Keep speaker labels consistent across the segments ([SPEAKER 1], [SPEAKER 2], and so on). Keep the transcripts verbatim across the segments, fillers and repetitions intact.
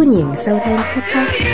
[SPEAKER 1] 歡迎收聽 TikTok。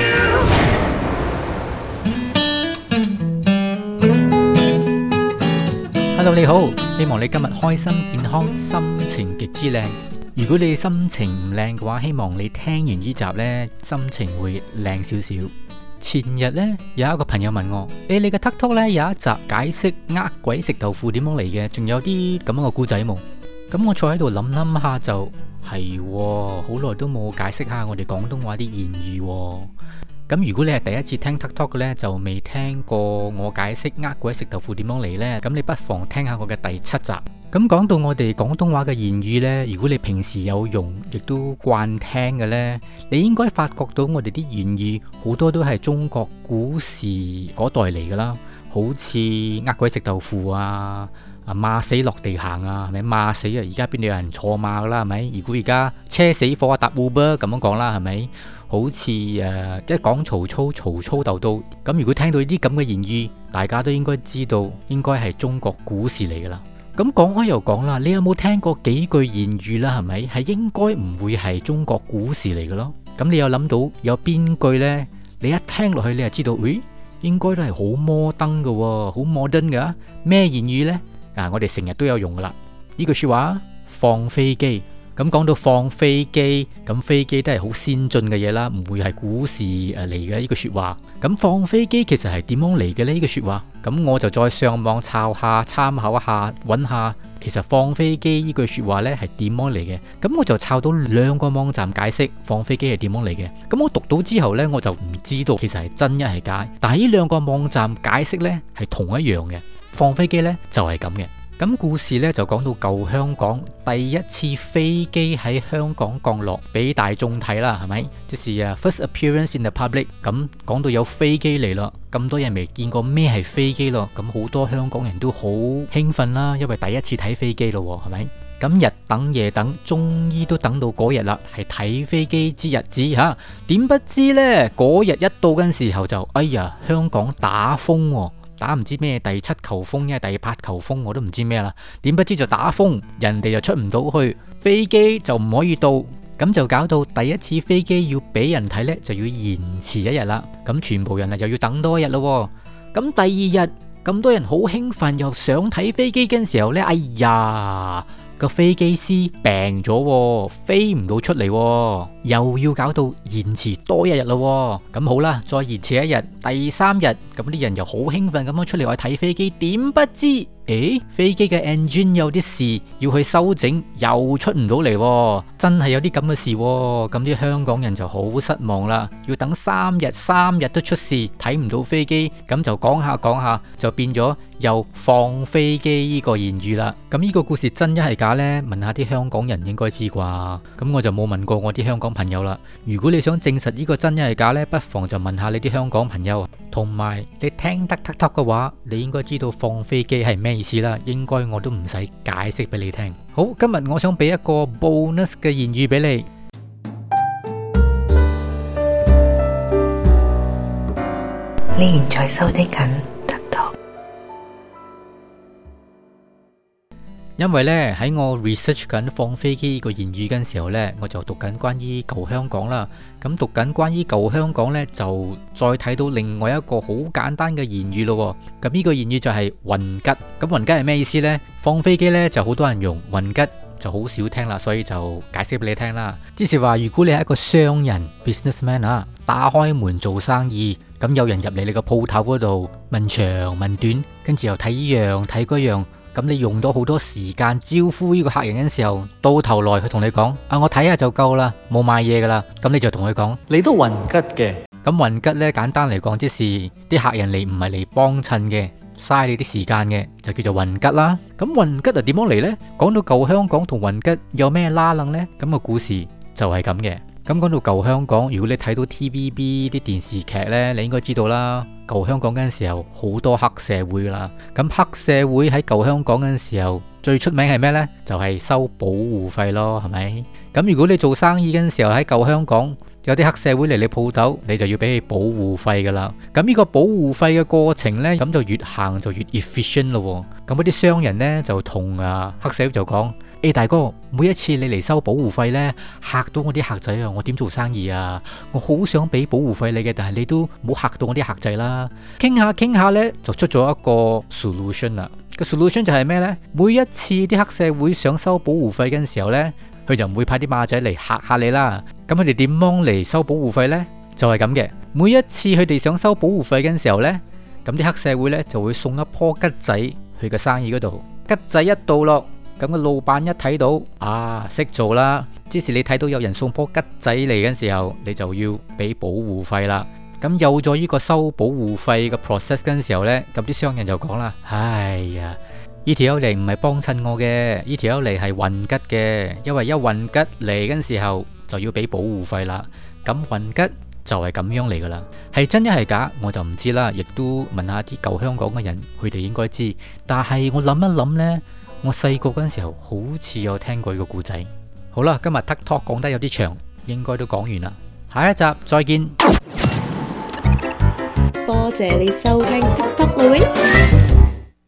[SPEAKER 2] Hello， 你好，希望你今日開心健康，心情極之靚。如果你心情唔靚嘅話，希望你聽完呢集呢，心情會靚少少。前日呢，有一個朋友問我，誒，你嘅 TikTok 呢有一集解釋呃鬼食豆腐點樣嚟嘅，仲有啲咁樣嘅故仔冇？咁我坐喺度諗諗下就係，好耐都冇解釋下我哋廣東話啲諺語。咁如果你係第一次聽 TikTok 嘅呢，就未聽過我解釋呃鬼食豆腐點樣嚟呢，咁你不妨聽下我嘅第七集。咁講到我哋廣東話嘅諺語呢，如果你平時有用，亦都慣聽嘅呢，你應該發覺到我哋啲諺語好多都係中國古時嗰代嚟噶啦，好似呃鬼食豆腐啊，啊馬死落地行啊，係咪馬死啊？而家邊度有人坐馬噶啦，係咪？如果而家車死火啊搭 Uber 咁樣講啦，係咪？好似誒、呃，即係講曹操，曹操鬥到咁。如果聽到呢啲咁嘅言語，大家都應該知道，應該係中國古時嚟噶啦。咁講開又講啦，你有冇聽過幾句言語啦？係咪係應該唔會係中國古時嚟嘅咯？咁你有諗到有邊句呢？你一聽落去，你就知道，誒，應該都係好摩登嘅，好 modern 噶。咩言語呢？啊，我哋成日都有用噶啦。呢句說話，放飛機。咁講到放飛機，咁飛機都係好先進嘅嘢啦，唔會係古時誒嚟嘅呢句說話。咁放飛機其實係點樣嚟嘅呢？呢句說話，咁我就再上網抄下、參考一下、揾下，其實放飛機呢句說話呢係點樣嚟嘅？咁我就抄到兩個網站解釋放飛機係點樣嚟嘅。咁我讀到之後呢，我就唔知道其實係真一係假。但係呢兩個網站解釋呢係同一樣嘅，放飛機呢就係咁嘅。咁故事咧就講到舊香港第一次飛機喺香港降落俾大眾睇啦，係咪？即是啊 first appearance in the public。咁講到有飛機嚟咯，咁多人未見過咩係飛機咯，咁好多香港人都好興奮啦，因為第一次睇飛機咯，係咪？咁日等夜等，終於都等到嗰日啦，係睇飛機之日子吓。點不知呢，嗰日一到嘅時候就，哎呀，香港打風喎。打唔知咩第七球風，因為第八球風我都唔知咩啦。點不知就打風，人哋就出唔到去，飛機就唔可以到，咁就搞到第一次飛機要俾人睇呢，就要延遲一日啦。咁全部人啊又要等多一日咯。咁第二日咁多人好興奮，又想睇飛機嘅時候呢，哎呀，個飛機師病咗，飛唔到出嚟，又要搞到延遲多一日咯。咁好啦，再延遲一日，第三日咁啲人又好興奮咁樣出嚟去睇飛機，點不知誒，飛機嘅 engine 有啲事要去修整，又出唔到嚟，真係有啲咁嘅事。咁啲香港人就好失望啦，要等三日，三日都出事，睇唔到飛機，咁就講下講下就變咗又放飛機呢個言語啦。咁呢個故事真一係假呢？問下啲香港人應該知啩。咁我就冇問過我啲香港朋友啦。如果你想證實呢個真一係假呢，不妨就問下你啲香港朋友。同埋你聽得 TikTok 嘅話，你應該知道放飛機係咩意思啦。應該我都唔使解釋俾你聽。好，今日我想俾一個 bonus 嘅言語俾你。
[SPEAKER 1] 你現在收聽緊 TikTok。
[SPEAKER 2] 因為咧喺我 research 緊放飛機呢個言語嘅時候呢，我就讀緊關於舊香港啦。咁讀緊關於舊香港呢，就再睇到另外一個好簡單嘅言語咯。咁呢個言語就係運吉。咁運吉係咩意思呢？放飛機呢就好多人用，運吉就好少聽啦，所以就解釋俾你聽啦。即是話，如果你係一個商人 businessman 啊，打開門做生意，咁有人入嚟你個鋪頭嗰度問長問短，跟住又睇呢樣睇嗰樣。咁你用到好多時間招呼呢個客人嘅時候，到頭來佢同你講：啊，我睇下就夠啦，冇買嘢噶啦。咁你就同佢講：
[SPEAKER 3] 你都運吉嘅。
[SPEAKER 2] 咁運吉呢，簡單嚟講，即是啲客人嚟唔係嚟幫襯嘅，嘥你啲時間嘅，就叫做運吉啦。咁運吉啊點樣嚟呢？講到舊香港同運吉有咩拉楞呢？咁個故事就係咁嘅。咁講到舊香港，如果你睇到 T V B 啲電視劇呢，你應該知道啦。舊香港嗰陣時候好多黑社會啦，咁黑社會喺舊香港嗰陣時候最出名係咩呢？就係收保護費咯，係咪？咁如果你做生意嗰陣時候喺舊香港有啲黑社會嚟你鋪頭，你就要俾佢保護費噶啦。咁呢個保護費嘅過程呢，咁就越行就越 efficient 咯。咁嗰啲商人呢，就同啊黑社會就講： 誒大哥，每一次你嚟收保護費呢，嚇到我啲客仔啊，我點做生意啊？我好想俾保護費你嘅，但係你都冇嚇到我啲客仔啦。傾下傾下呢，就出咗一個 solution 啦。個 solution 就係咩呢？每一次啲黑社會想收保護費嘅時候呢，佢就唔會派啲馬仔嚟嚇下你啦。咁佢哋點樣嚟收保護費呢？就係咁嘅。每一次佢哋想收保護費嘅時候呢，咁啲黑社會呢就會送一棵桔仔去個生意嗰度。桔仔一到落，咁個老闆一睇到啊，識做啦。即使你睇到有人送棵桔仔嚟嘅時候，你就要俾保護費啦。咁有咗呢個收保護費嘅 process 嘅時候呢，咁啲商人就講啦：哎呀，呢條友嚟唔係幫襯我嘅，呢條友嚟係運桔嘅，因為一運桔嚟嘅時候就要俾保護費啦。咁運桔就係咁樣嚟噶啦，係真一係假我就唔知啦，亦都問下啲舊香港嘅人，佢哋應該知。但係我諗一諗呢，我細個嗰陣時候好似有聽過呢個故仔。好啦，今日 Tuck Talk 講得有啲長，應該都講完啦，下一集再見。
[SPEAKER 1] 多謝你收聽 Tuck Talk 啦喂。